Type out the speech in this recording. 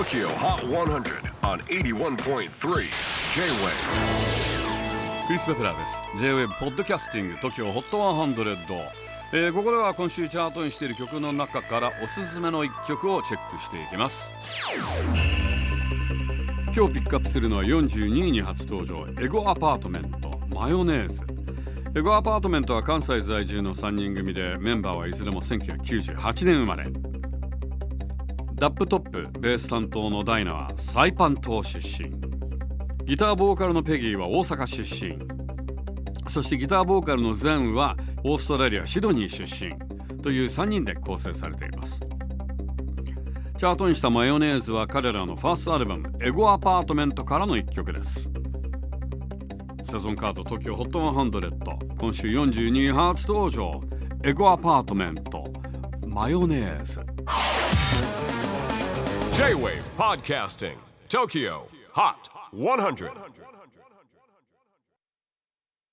TOKYO HOT 100 on 81.3 J-WAVE。 クリス・ベプラーです。 J-WAVE ポッドキャスティング TOKYO HOT 100、ここでは今週チャートにしている曲の中からおすすめの1曲をチェックしていきます。今日ピックアップするのは42位に初登場、エゴアパートメントマヨネーズ。エゴアパートメントは関西在住の3人組で、メンバーはいずれも1998年生まれ。ダップトップベース担当のダイナはサイパン島出身、ギターボーカルのペギーは大阪出身、そしてギターボーカルのゼンはオーストラリアシドニー出身という3人で構成されています。チャートにしたマヨネーズは彼らのファーストアルバムエゴアパートメントからの1曲です。セゾンカード TOKYO HOT 100、今週42位初登場、エゴアパートメントマヨネーズ。 J-WAVE PODCASTING TOKYO HOT 100